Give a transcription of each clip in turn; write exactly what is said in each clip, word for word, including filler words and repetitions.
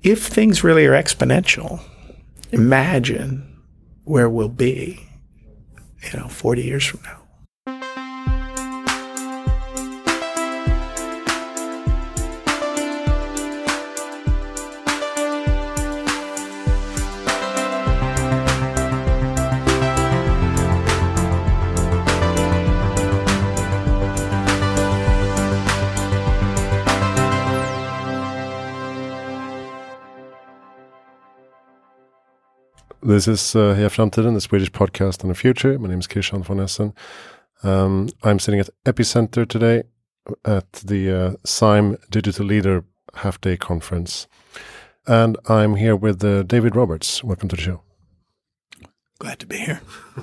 if things really are exponential, imagine where we'll be, you know, forty years from now. This is uh, Heja Framtiden, the Swedish podcast on the future. My name is Christian von Essen. Um, I'm sitting at Epicenter today at the uh, S I M Digital Leader Half Day Conference. And I'm here with uh, David Roberts. Welcome to the show. Glad to be here.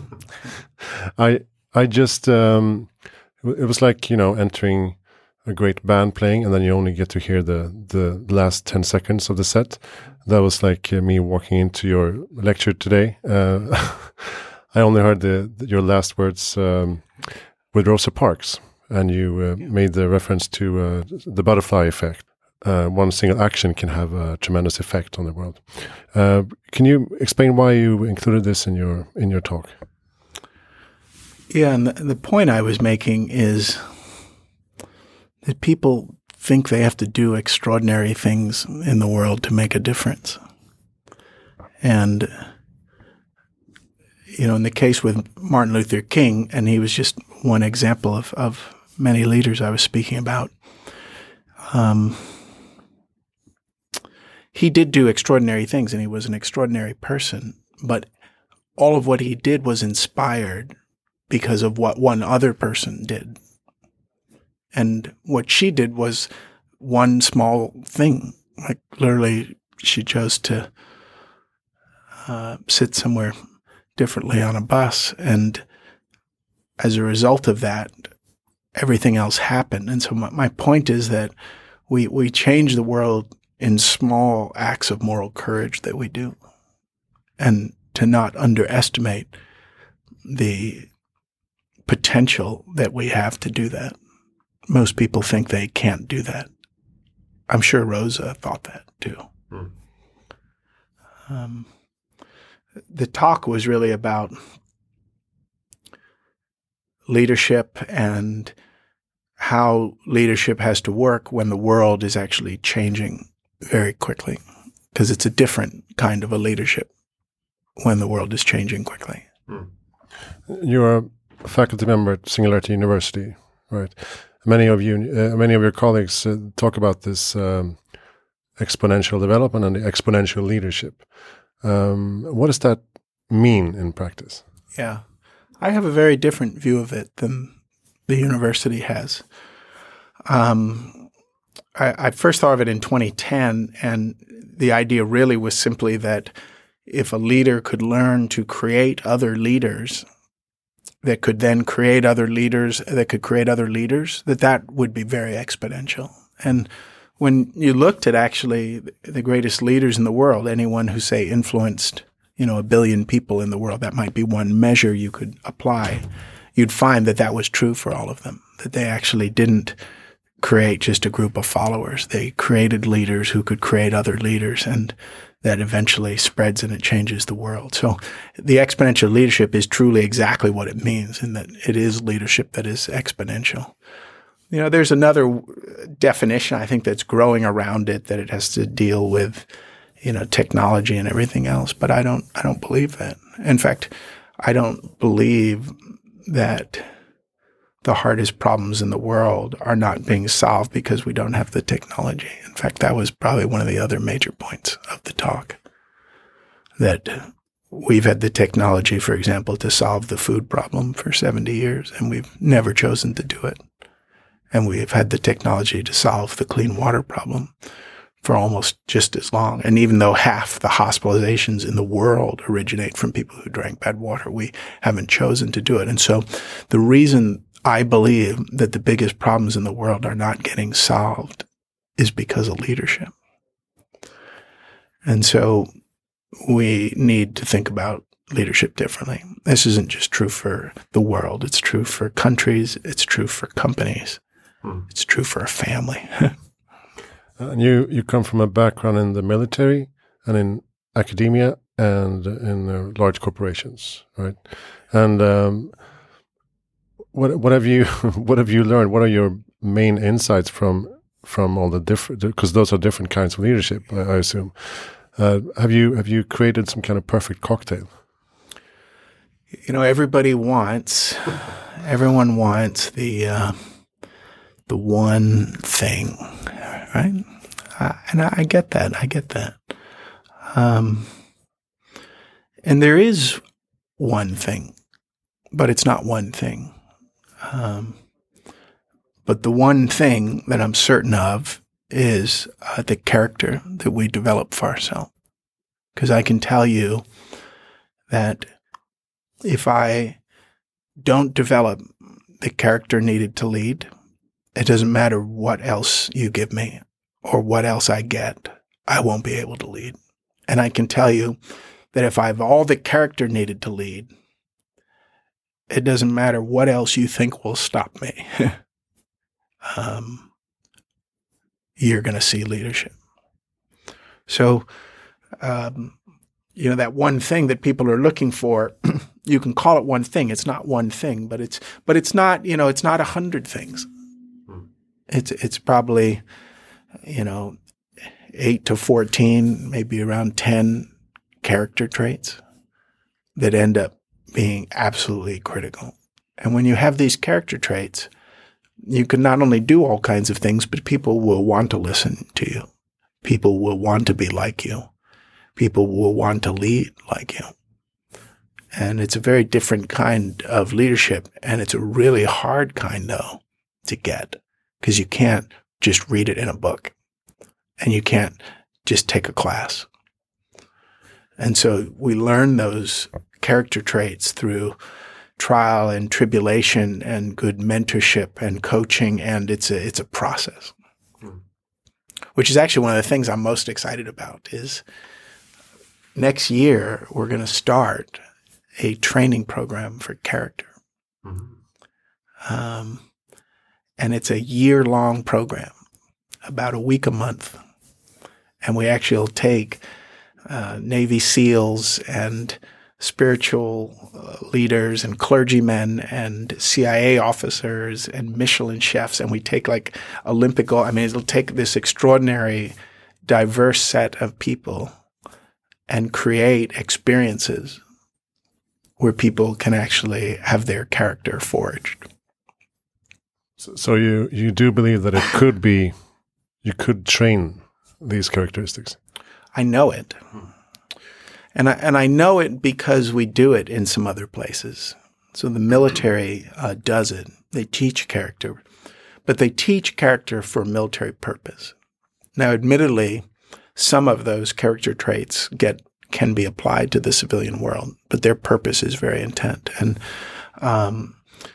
I I just, um, it was like, you know, entering a great band playing, and then you only get to hear the, the last ten seconds of the set. That was like uh, me walking into your lecture today. Uh, I only heard the, the your last words um, with Rosa Parks, and you uh, yeah. made the reference to uh, the butterfly effect. Uh, one single action can have a tremendous effect on the world. Uh, can you explain why you included this in your in your talk? Yeah, and the, the point I was making is that people think they have to do extraordinary things in the world to make a difference. And, you know, in the case with Martin Luther King, and he was just one example of, of many leaders I was speaking about, um, he did do extraordinary things, and he was an extraordinary person, but all of what he did was inspired because of what one other person did. And what she did was one small thing. Like literally, she chose to uh, sit somewhere differently on a bus. And as a result of that, everything else happened. And so my, my point is that we, we change the world in small acts of moral courage that we do. And to not underestimate the potential that we have to do that. Most people think they can't do that. I'm sure Rosa thought that too. Mm. Um, the talk was really about leadership and how leadership has to work when the world is actually changing very quickly, because it's a different kind of a leadership when the world is changing quickly. Mm. You're a faculty member at Singularity University, right? Many of you, uh, many of your colleagues uh, talk about this um, exponential development and the exponential leadership. Um, what does that mean in practice? Yeah, I have a very different view of it than the university has. Um, I, I first thought of it in twenty ten, and the idea really was simply that if a leader could learn to create other leaders that could then create other leaders, that could create other leaders, that that would be very exponential. And when you looked at actually the greatest leaders in the world, anyone who, say, influenced, you know, a billion people in the world, that might be one measure you could apply, you'd find that that was true for all of them, that they actually didn't create just a group of followers. They created leaders who could create other leaders, and that eventually spreads and it changes the world. So the exponential leadership is truly exactly what it means, in that it is leadership that is exponential. You know, there's another definition, I think, that's growing around it, that it has to deal with, you know, technology and everything else. But I don't, I don't believe that. In fact, I don't believe that the hardest problems in the world are not being solved because we don't have the technology. In fact, that was probably one of the other major points of the talk, that we've had the technology, for example, to solve the food problem for seventy years, and we've never chosen to do it. And we've had the technology to solve the clean water problem for almost just as long. And even though half the hospitalizations in the world originate from people who drank bad water, we haven't chosen to do it. And so the reason I believe that the biggest problems in the world are not getting solved is because of leadership. And so we need to think about leadership differently. This isn't just true for the world. It's true for countries. It's true for companies. Hmm. It's true for a family. And you, you come from a background in the military and in academia and in uh, large corporations, right? And um, what what have you what have you learned? What are your main insights from from all the different? Because those are different kinds of leadership, I, I assume. Uh, have you have you created some kind of perfect cocktail? You know, everybody wants, everyone wants the uh, the one thing, right? Uh, and I, I get that. I get that. Um, and there is one thing, but it's not one thing. Um, but the one thing that I'm certain of is uh, the character that we develop for ourselves. Because I can tell you that if I don't develop the character needed to lead, it doesn't matter what else you give me or what else I get, I won't be able to lead. And I can tell you that if I have all the character needed to lead, it doesn't matter what else you think will stop me. um, you're going to see leadership. So, um, you know, that one thing that people are looking for, you can call it one thing. It's not one thing, but it's, but it's not, you know, it's not a hundred things. Hmm. It's, it's probably, you know, eight to fourteen, maybe around ten character traits that end up being absolutely critical. And when you have these character traits, you can not only do all kinds of things, but people will want to listen to you. People will want to be like you. People will want to lead like you. And it's a very different kind of leadership. And it's a really hard kind, though, to get, because you can't just read it in a book and you can't just take a class. And so we learn those character traits through trial and tribulation and good mentorship and coaching. And it's a, it's a process, hmm. which is actually one of the things I'm most excited about is next year, we're going to start a training program for character. Mm-hmm. Um, and it's a year-long program, about a week a month. And we actually will take uh, Navy SEALs and spiritual uh, leaders and clergymen and C I A officers and Michelin chefs, and we take like Olympic, I mean, it'll take this extraordinary, diverse set of people and create experiences where people can actually have their character forged. So, so you, you do believe that it could be, you could train these characteristics? I know it. And I, and I know it because we do it in some other places. So the military uh, does it. They teach character, but they teach character for military purpose. Now, admittedly, some of those character traits get can be applied to the civilian world, but their purpose is very intent. And um,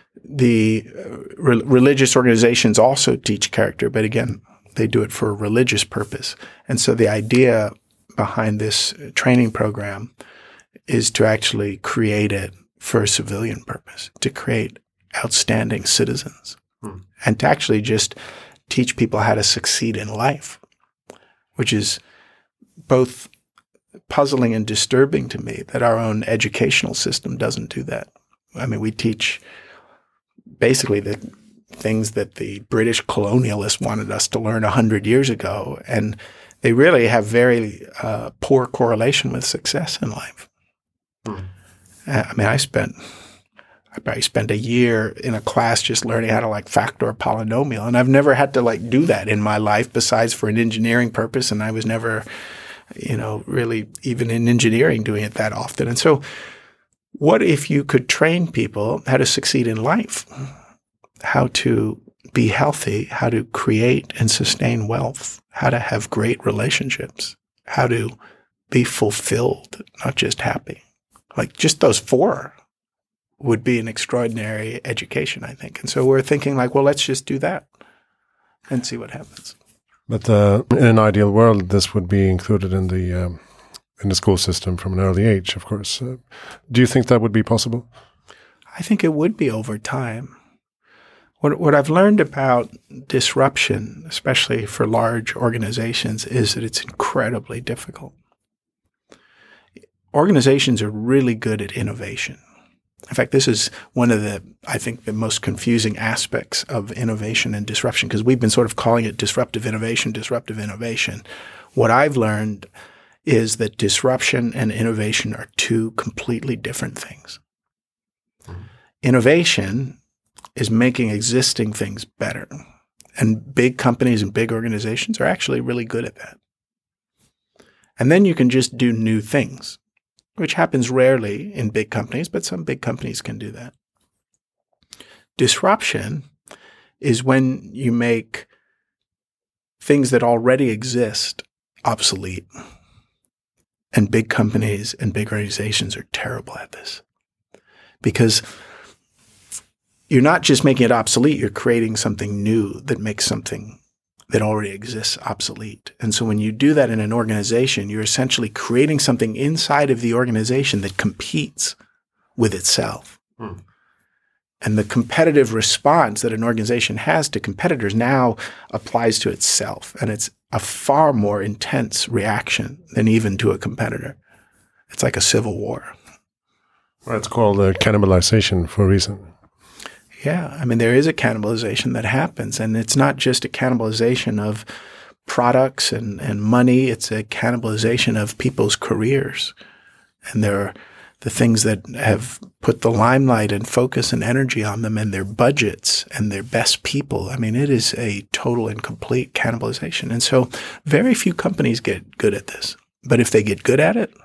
the re- religious organizations also teach character, but again, they do it for a religious purpose. And so the idea behind this training program is to actually create it for a civilian purpose, to create outstanding citizens, hmm. and to actually just teach people how to succeed in life, which is both puzzling and disturbing to me that our own educational system doesn't do that. I mean, we teach basically the things that the British colonialists wanted us to learn a hundred years ago, and they really have very uh, poor correlation with success in life. Hmm. I mean, I spent, I probably spent a year in a class just learning how to like factor a polynomial, and I've never had to like do that in my life besides for an engineering purpose, and I was never, you know, really even in engineering doing it that often. And so what if you could train people how to succeed in life, how to be healthy, how to create and sustain wealth, how to have great relationships, how to be fulfilled, not just happy. Like just those four would be an extraordinary education, I think. And so we're thinking like, well, let's just do that and see what happens. But uh, in an ideal world, this would be included in the um, in the school system from an early age, of course. Uh, do you think that would be possible? I think it would be over time. What, what I've learned about disruption, especially for large organizations, is that it's incredibly difficult. Organizations are really good at innovation. In fact, this is one of the, I think, the most confusing aspects of innovation and disruption, because we've been sort of calling it disruptive innovation, disruptive innovation. What I've learned is that disruption and innovation are two completely different things. Mm-hmm. Innovation is making existing things better. And big companies and big organizations are actually really good at that. And then you can just do new things, which happens rarely in big companies, but some big companies can do that. Disruption is when you make things that already exist obsolete. And big companies and big organizations are terrible at this. Because you're not just making it obsolete, you're creating something new that makes something that already exists obsolete. And so when you do that in an organization, you're essentially creating something inside of the organization that competes with itself. Hmm. And the competitive response that an organization has to competitors now applies to itself. And it's a far more intense reaction than even to a competitor. It's like a civil war. Well, it's called uh, cannibalization for a reason. Yeah. I mean, there is a cannibalization that happens, and it's not just a cannibalization of products and, and money. It's a cannibalization of people's careers. And there are the things that have put the limelight and focus and energy on them, and their budgets and their best people. I mean, it is a total and complete cannibalization. And so very few companies get good at this. But if they get good at it,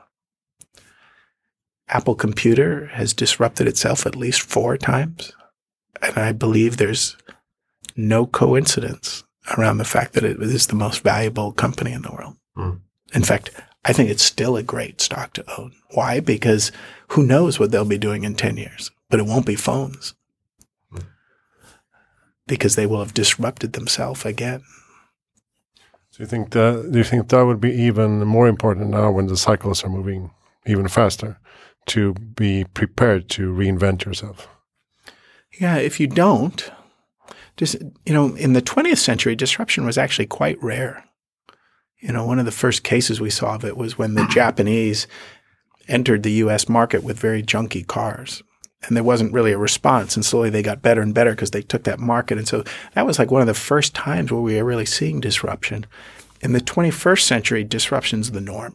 Apple Computer has disrupted itself at least four times. And I believe there's no coincidence around the fact that it is the most valuable company in the world. Mm. In fact, I think it's still a great stock to own. Why? Because who knows what they'll be doing in ten years, but it won't be phones. Mm. Because they will have disrupted themselves again. So you think that, do you think that would be even more important now when the cycles are moving even faster, to be prepared to reinvent yourself? Yeah, if you don't, just, you know, in the twentieth century, disruption was actually quite rare. You know, one of the first cases we saw of it was when the Japanese entered the U S market with very junky cars. And there wasn't really a response. And slowly they got better and better because they took that market. And so that was like one of the first times where we were really seeing disruption. In the twenty-first century, disruption's the norm.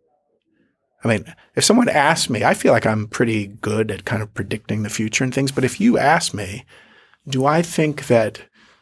I mean, if someone asked me, I feel like I'm pretty good at kind of predicting the future and things. But if you ask me, do I think that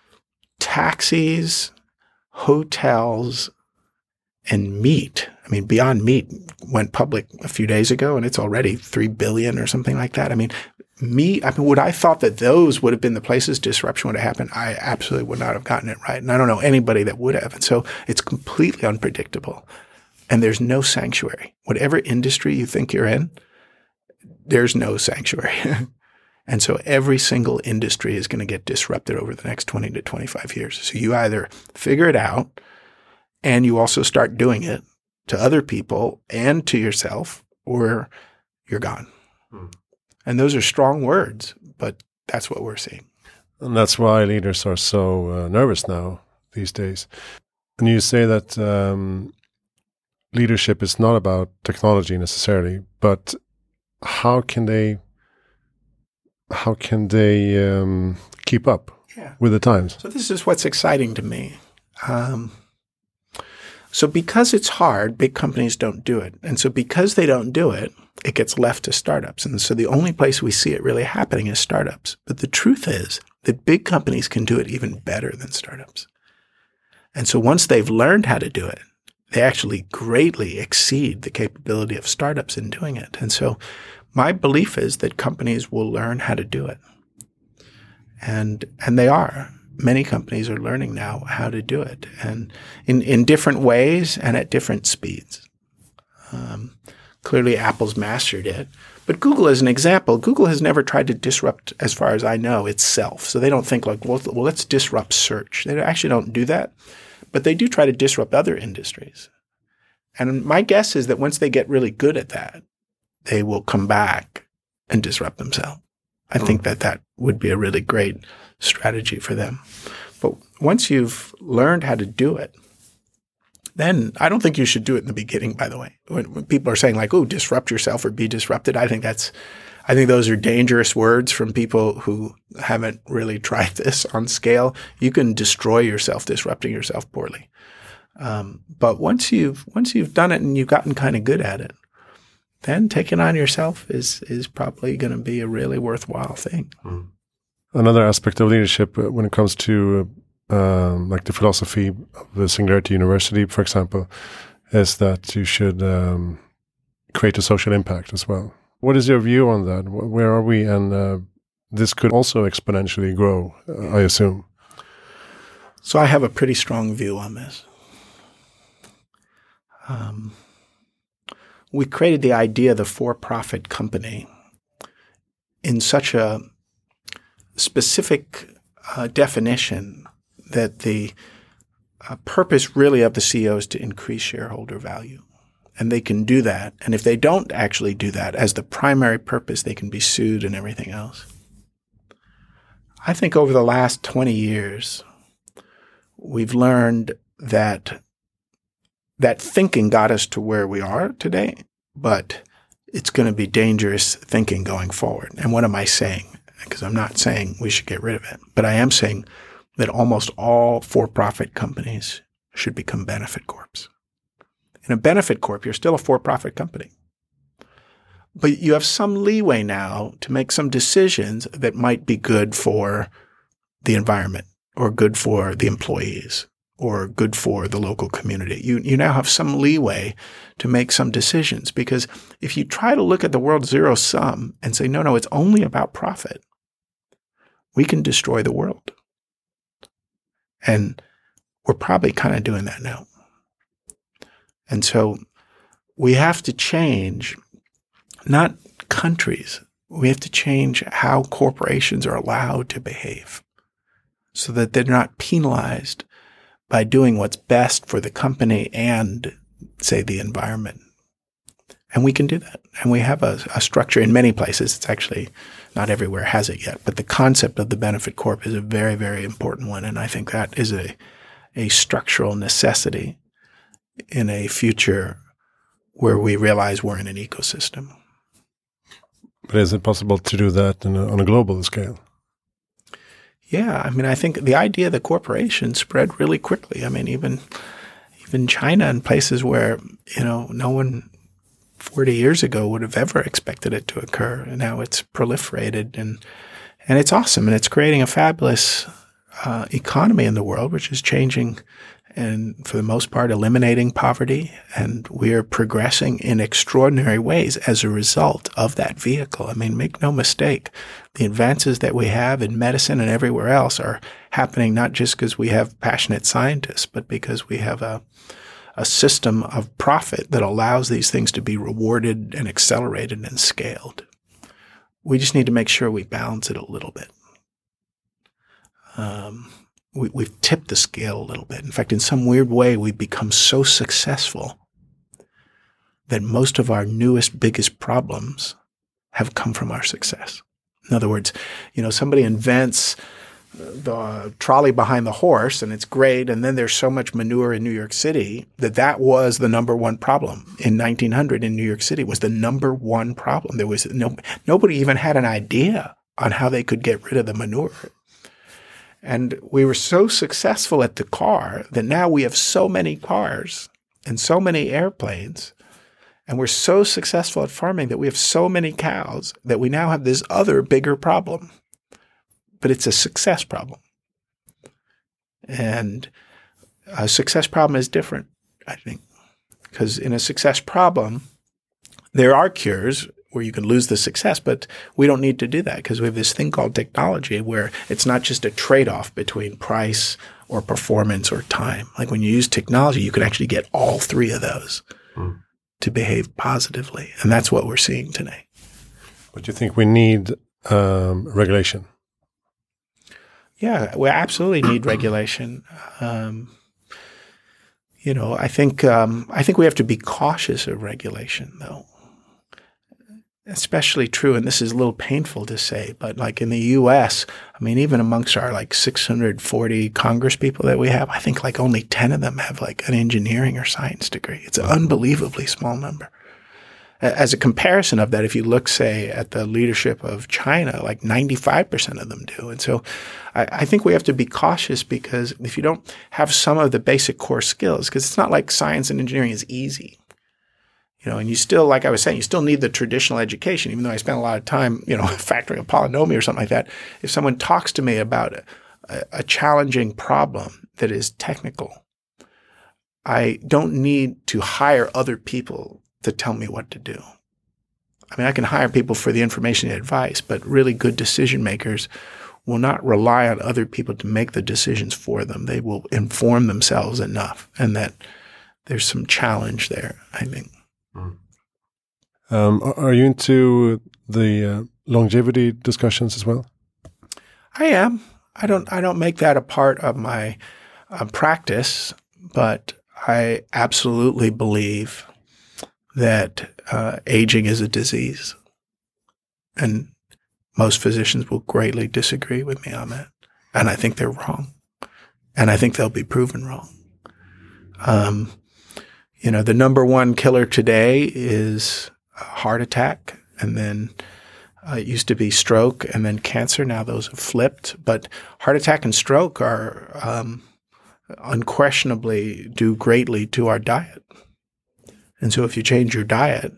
taxis, hotels, and meat, I mean, Beyond Meat went public a few days ago and it's already three billion or something like that. I mean, meat, I mean, would I thought that those would have been the places disruption would have happened? I absolutely would not have gotten it right. And I don't know anybody that would have. And so it's completely unpredictable. And there's no sanctuary. Whatever industry you think you're in, there's no sanctuary. And so every single industry is going to get disrupted over the next twenty to twenty-five years. So you either figure it out and you also start doing it to other people and to yourself, or you're gone. Hmm. And those are strong words, but that's what we're seeing. And that's why leaders are so uh, nervous now these days. And you say that um, leadership is not about technology necessarily, but how can they how can they um, keep up yeah. with the times? So this is what's exciting to me. Um, so because it's hard, big companies don't do it. And so because they don't do it, it gets left to startups. And so the only place we see it really happening is startups. But the truth is that big companies can do it even better than startups. And so once they've learned how to do it, they actually greatly exceed the capability of startups in doing it. And so my belief is that companies will learn how to do it. And and they are. Many companies are learning now how to do it, and in, in different ways and at different speeds. Um, clearly, Apple's mastered it. But Google, as an example, Google has never tried to disrupt, as far as I know, itself. So they don't think like, well, well let's disrupt search. They actually don't do that. But they do try to disrupt other industries. And my guess is that once they get really good at that, they will come back and disrupt themselves. I think that that would be a really great strategy for them. But once you've learned how to do it, then I don't think you should do it in the beginning, by the way. When, when people are saying like, oh, disrupt yourself or be disrupted, I think that's, I think those are dangerous words from people who haven't really tried this on scale. You can destroy yourself disrupting yourself poorly. Um, but once you've, once you've done it and you've gotten kind of good at it, then taking on yourself is, is probably going to be a really worthwhile thing. Mm. Another aspect of leadership uh, when it comes to um, like the philosophy of the Singularity University, for example, is that you should um, create a social impact as well. What is your view on that? Where are we? And uh, this could also exponentially grow, uh, I assume. So I have a pretty strong view on this. Um, we created the idea of the for-profit company in such a specific uh, definition that the uh, purpose really of the C E O is to increase shareholder value. And they can do that. And if they don't actually do that as the primary purpose, they can be sued and everything else. I think over the last twenty years, we've learned that that thinking got us to where we are today, but it's going to be dangerous thinking going forward. And what am I saying? Because I'm not saying we should get rid of it, but I am saying that almost all for-profit companies should become benefit corps. In a benefit corp, you're still a for-profit company. But you have some leeway now to make some decisions that might be good for the environment or good for the employees or good for the local community. You, you now have some leeway to make some decisions, because if you try to look at the world zero sum and say, no, no, it's only about profit, we can destroy the world. And we're probably kind of doing that now. And so we have to change, not countries, we have to change how corporations are allowed to behave so that they're not penalized by doing what's best for the company and, say, the environment. And we can do that. And we have a, a structure in many places. It's actually not everywhere has it yet. But the concept of the benefit corp is a very, very important one. And I think that is a, a structural necessity in a future where we realize we're in an ecosystem. But is it possible to do that in a, on a global scale? Yeah, I mean, I think the idea of the corporation spread really quickly. I mean, even even China and places where, you know, no one forty years ago would have ever expected it to occur. And now it's proliferated, and and it's awesome. And it's creating a fabulous uh, economy in the world, which is changing and for the most part eliminating poverty. And we are progressing in extraordinary ways as a result of that vehicle. I mean, make no mistake, the advances that we have in medicine and everywhere else are happening not just because we have passionate scientists, but because we have a a system of profit that allows these things to be rewarded and accelerated and scaled. We just need to make sure we balance it a little bit. Um, we, we've tipped the scale a little bit. In fact, in some weird way, we've become so successful that most of our newest, biggest problems have come from our success. In other words, you know, somebody invents the trolley behind the horse and it's great, and then there's so much manure in New York City that that was the number one problem. In nineteen hundred in New York City was the number one problem. There was no, nobody even had an idea on how they could get rid of the manure. And we were so successful at the car that now we have so many cars and so many airplanes, and we're so successful at farming that we have so many cows that we now have this other bigger problem. But it's a success problem. And a success problem is different, I think, because in a success problem, there are cures where you can lose the success, but we don't need to do that because we have this thing called technology where it's not just a trade-off between price or performance or time. Like when you use technology, you can actually get all three of those mm. to behave positively. And that's what we're seeing today. But you think we need um, regulation? Yeah, we absolutely need regulation. Um, you know, I think um, I think we have to be cautious of regulation, though. especially true, and this is a little painful to say, but like in the U S, I mean, even amongst our like six hundred forty Congress people that we have, I think like only ten of them have like an engineering or science degree. It's an unbelievably small number. As a comparison of that, if you look, say, at the leadership of China, like ninety-five percent of them do. And so I, I think we have to be cautious, because if you don't have some of the basic core skills, because it's not like science and engineering is easy. You know, and you still, like I was saying, you still need the traditional education, even though I spent a lot of time, you know, factoring a polynomial or something like that. If someone talks to me about a, a challenging problem that is technical, I don't need to hire other people to tell me what to do. I mean, I can hire people for the information and advice, but really good decision makers will not rely on other people to make the decisions for them. They will inform themselves enough, and that there's some challenge there, I think. Um, are you into the uh, longevity discussions as well? I am. I don't. I don't make that a part of my uh, practice, but I absolutely believe that uh, aging is a disease, and most physicians will greatly disagree with me on that, and I think they're wrong, and I think they'll be proven wrong. Um, you know, the number one killer today is a heart attack, and then uh, it used to be stroke, and then cancer. Now those have flipped, but heart attack and stroke are um, unquestionably due greatly to our diet. And so if you change your diet,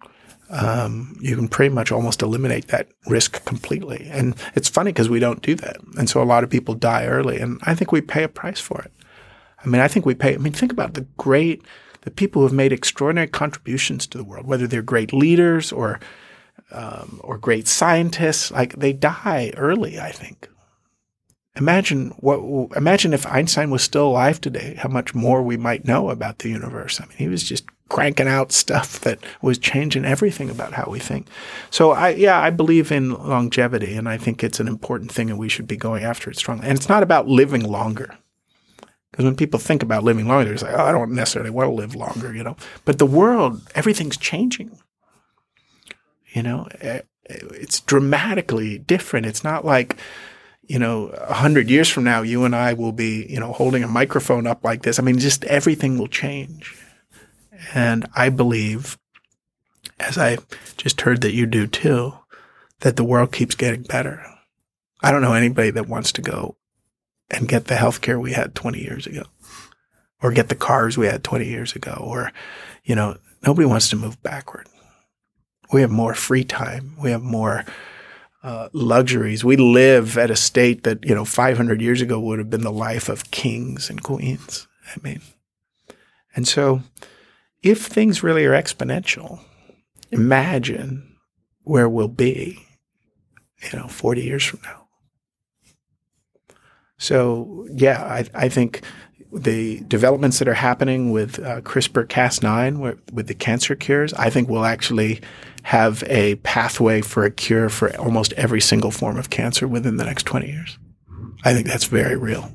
um, you can pretty much almost eliminate that risk completely. And it's funny because we don't do that. And so a lot of people die early, and I think we pay a price for it. I mean, I think we pay – I mean, think about the great – the people who have made extraordinary contributions to the world, whether they're great leaders or um, or great scientists. Like, they die early, I think. Imagine what. Imagine if Einstein was still alive today, how much more we might know about the universe. I mean, he was just cranking out stuff that was changing everything about how we think. So, I yeah, I believe in longevity, and I think it's an important thing, and we should be going after it strongly. And it's not about living longer. Because when people think about living longer, they're like, oh, I don't necessarily want to live longer, you know. But the world, everything's changing. You know, it's dramatically different. It's not like, you know, a hundred years from now, you and I will be, you know, holding a microphone up like this. I mean, just everything will change. And I believe, as I just heard that you do too, that the world keeps getting better. I don't know anybody that wants to go and get the healthcare we had twenty years ago, or get the cars we had twenty years ago, or, you know, nobody wants to move backward. We have more free time. We have more uh, luxuries. We live at a state that, you know, five hundred years ago would have been the life of kings and queens. I mean, and so if things really are exponential, imagine where we'll be, you know, forty years from now. So, yeah, I, I think the developments that are happening with uh, CRISPR Cas nine, with, with the cancer cures, I think we'll actually have a pathway for a cure for almost every single form of cancer within the next twenty years. I think that's very real.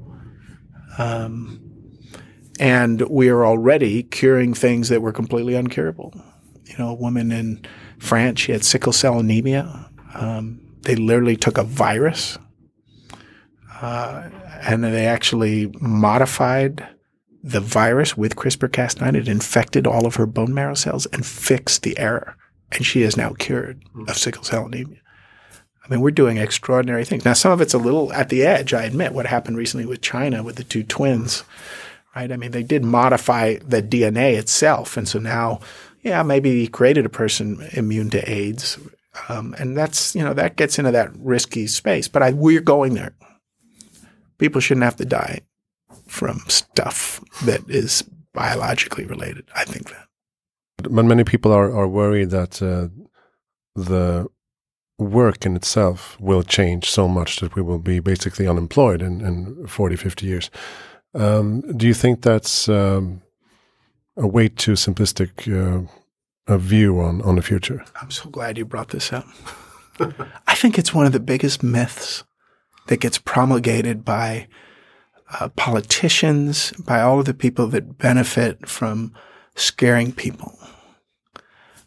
Um, and we are already curing things that were completely uncurable. You know, a woman in France, she had sickle cell anemia. Um, they literally took a virus Uh, and they actually modified the virus with CRISPR Cas nine. It infected all of her bone marrow cells and fixed the error. And she is now cured of sickle cell anemia. I mean, we're doing extraordinary things. Now, some of it's a little at the edge, I admit, what happened recently with China with the two twins, right? I mean, they did modify the D N A itself. And so now, yeah, maybe he created a person immune to AIDS. Um, and that's, you know, that gets into that risky space. But I, we're going there. People shouldn't have to die from stuff that is biologically related. I think that. But many people are, are worried that uh, the work in itself will change so much that we will be basically unemployed in, in forty, fifty years. Um, do you think that's um, a way too simplistic uh, a view on, on the future? I'm so glad you brought this up. I think it's one of the biggest myths that gets promulgated by uh, politicians, by all of the people that benefit from scaring people.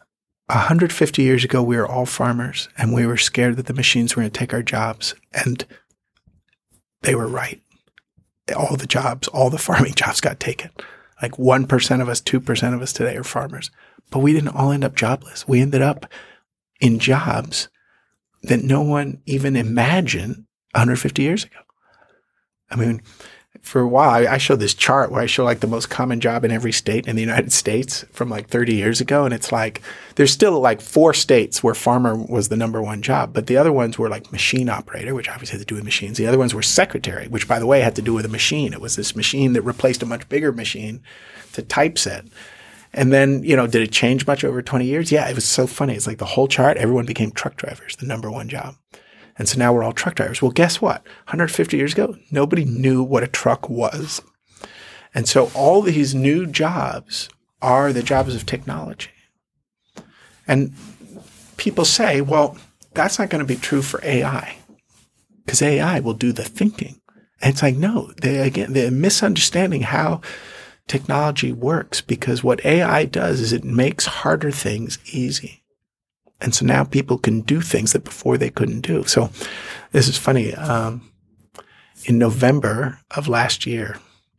one hundred fifty years ago, we were all farmers, and we were scared that the machines were going to take our jobs. And they were right. All the jobs, all the farming jobs got taken. Like one percent of us, two percent of us today are farmers. But we didn't all end up jobless. We ended up in jobs that no one even imagined one hundred fifty years ago. I mean, for a while, I, I showed this chart where I show like the most common job in every state in the United States from like thirty years ago. And it's like, there's still like four states where farmer was the number one job. But the other ones were like machine operator, which obviously had to do with machines. The other ones were secretary, which by the way had to do with a machine. It was this machine that replaced a much bigger machine to typeset. And then, you know, did it change much over twenty years? Yeah, it was so funny. It's like the whole chart, everyone became truck drivers, the number one job. And so now we're all truck drivers. Well, guess what? one hundred fifty years ago, nobody knew what a truck was. And so all these new jobs are the jobs of technology. And people say, well, that's not going to be true for A I because A I will do the thinking. And it's like, no, they, again, they're misunderstanding how technology works, because what A I does is it makes harder things easy. And so now people can do things that before they couldn't do. So this is funny. Um, in November of last year,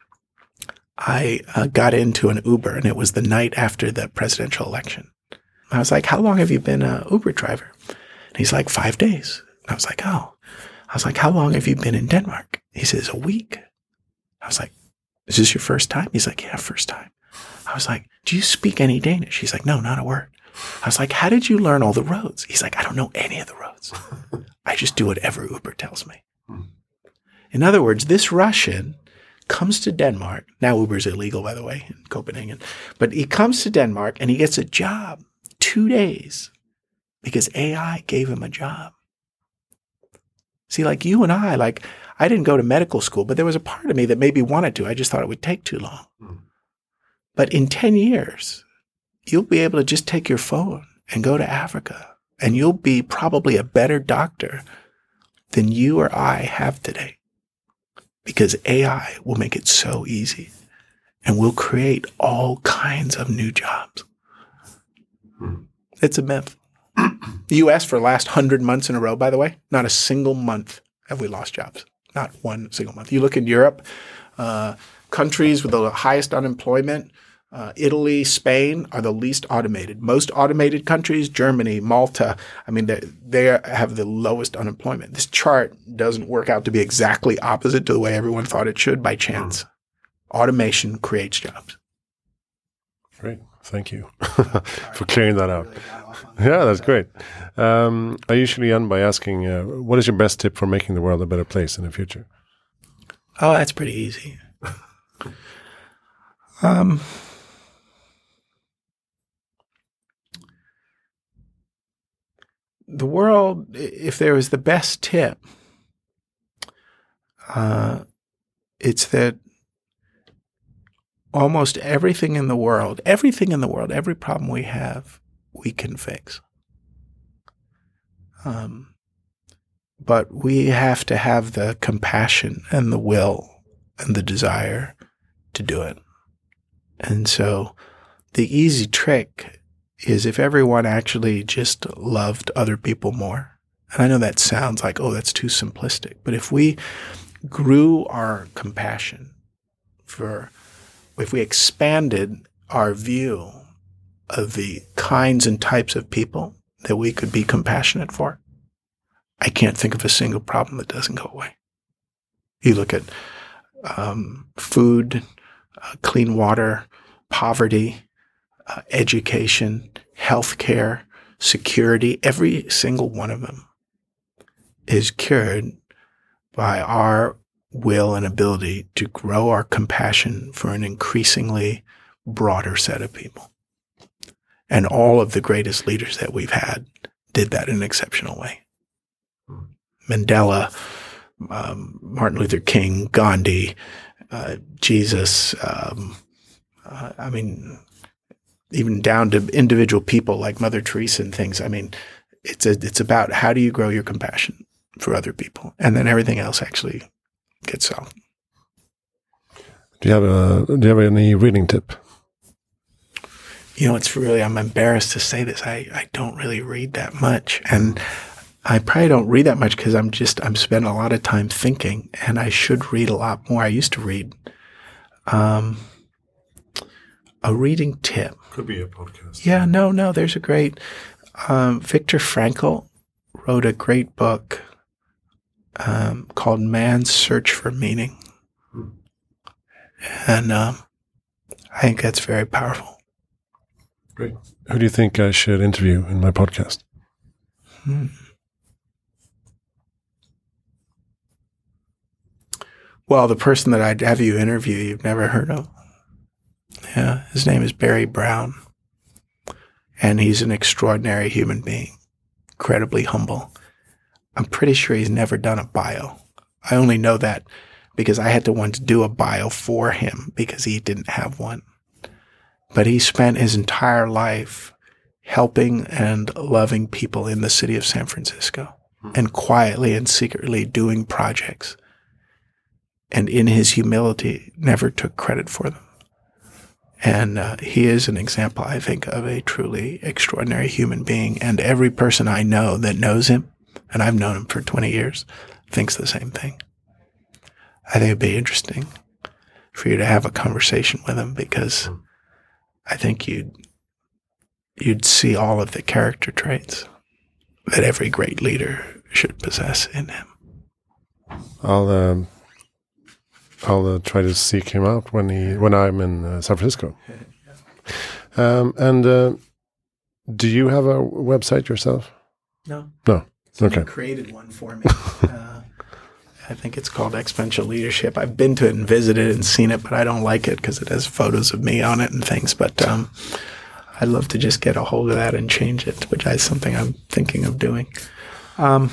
I uh, got into an Uber, and it was the night after the presidential election. I was like, how long have you been an Uber driver? And he's like, five days. And I was like, oh. I was like, how long have you been in Denmark? He says, a week. I was like, is this your first time? He's like, yeah, first time. I was like, do you speak any Danish? He's like, no, not a word. I was like, how did you learn all the roads? He's like, I don't know any of the roads. I just do whatever Uber tells me. In other words, this Russian comes to Denmark. Now Uber's illegal, by the way, in Copenhagen. But he comes to Denmark and he gets a job two days because A I gave him a job. See, like you and I, like I didn't go to medical school, but there was a part of me that maybe wanted to. I just thought it would take too long. Mm. But in ten years, you'll be able to just take your phone and go to Africa, and you'll be probably a better doctor than you or I have today, because A I will make it so easy, and we'll create all kinds of new jobs. Mm. It's a myth. The U S for the last hundred months in a row, by the way, not a single month have we lost jobs. Not one single month. You look in Europe, uh, countries with the highest unemployment, uh, Italy, Spain are the least automated. Most automated countries, Germany, Malta, I mean, they, they have the lowest unemployment. This chart doesn't work out to be exactly opposite to the way everyone thought it should by chance. Automation creates jobs. Great. Thank you for clearing that out. Yeah, that's great. Um, I usually end by asking, uh, what is your best tip for making the world a better place in the future? Oh, that's pretty easy. um, the world, if there was the best tip, uh, it's that almost everything in the world, everything in the world, every problem we have, we can fix. Um, but we have to have the compassion and the will and the desire to do it. And so the easy trick is if everyone actually just loved other people more. And I know that sounds like, oh, that's too simplistic. But if we grew our compassion for if we expanded our view of the kinds and types of people that we could be compassionate for, I can't think of a single problem that doesn't go away. You look at um, food, uh, clean water, poverty, uh, education, healthcare, security, every single one of them is cured by our will and ability to grow our compassion for an increasingly broader set of people. And all of the greatest leaders that we've had did that in an exceptional way. Mandela, um, Martin Luther King, Gandhi, uh, Jesus, um, uh, I mean, even down to individual people like Mother Teresa and things. I mean, it's a, it's about how do you grow your compassion for other people, and then everything else actually gets solved. Do you have a Do you have any reading tip? you know, it's really, I'm embarrassed to say this. I, I don't really read that much. And I probably don't read that much because I'm just, I'm spending a lot of time thinking, and I should read a lot more. I used to read. Um, a reading tip. Could be a podcast. Yeah, no, no, there's a great, um, Viktor Frankl wrote a great book um, called Man's Search for Meaning. Hmm. And um, I think that's very powerful. Great. Who do you think I should interview in my podcast? Hmm. Well, the person that I'd have you interview, you've never heard of. Yeah, his name is Barry Brown. And he's an extraordinary human being, incredibly humble. I'm pretty sure he's never done a bio. I only know that because I had to want to do a bio for him because he didn't have one. But he spent his entire life helping and loving people in the city of San Francisco and quietly and secretly doing projects. And in his humility, never took credit for them. And uh, he is an example, I think, of a truly extraordinary human being. And every person I know that knows him, and I've known him for twenty years, thinks the same thing. I think it'd be interesting for you to have a conversation with him because I think you'd you'd see all of the character traits that every great leader should possess in him. I'll um, I'll uh, try to seek him out when he when I'm in uh, San Francisco. Um, and uh, do you have a website yourself? No. No. Someone okay. created one for me. uh, I think it's called Exponential Leadership. I've been to it and visited and seen it, but I don't like it because it has photos of me on it and things. But um, I'd love to just get a hold of that and change it, which is something I'm thinking of doing. Um,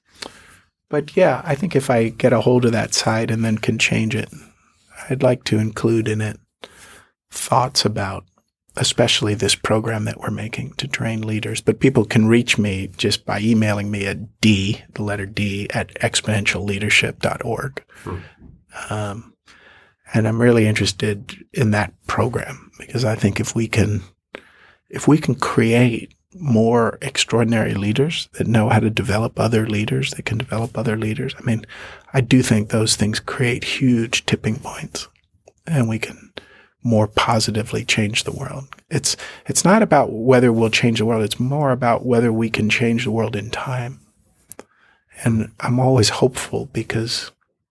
but yeah, I think if I get a hold of that site and then can change it, I'd like to include in it thoughts about especially this program that we're making to train leaders. But people can reach me just by emailing me at D, the letter D, at exponential leadership dot org. Hmm. Um, and I'm really interested in that program because I think if we can, if we can create more extraordinary leaders that know how to develop other leaders, that can develop other leaders, I mean, I do think those things create huge tipping points, and we can more positively change the world. It's it's not about whether we'll change the world. It's more about whether we can change the world in time. And I'm always hopeful because,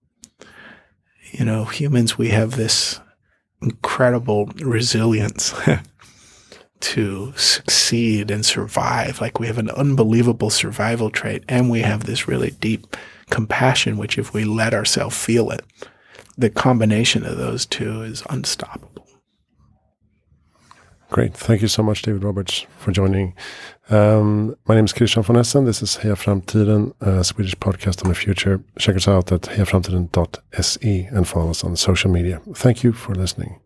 you know, humans, we have this incredible resilience to succeed and survive. Like we have an unbelievable survival trait, and we have this really deep compassion, which if we let ourselves feel it, the combination of those two is unstoppable. Great. Thank you so much, David Roberts, for joining. Um, my name is Christian von Essen. This is Heja Framtiden, a Swedish podcast on the future. Check us out at heja framtiden dot se and follow us on social media. Thank you for listening.